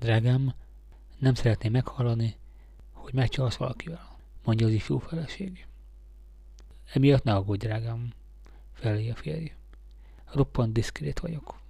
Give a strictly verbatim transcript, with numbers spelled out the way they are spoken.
Drágám, nem szeretném meghallani, hogy megcsalsz valakivel, mondja az ifjú feleség. Emiatt ne aggódj, drágám, felé a férj. Roppant diszkrét vagyok.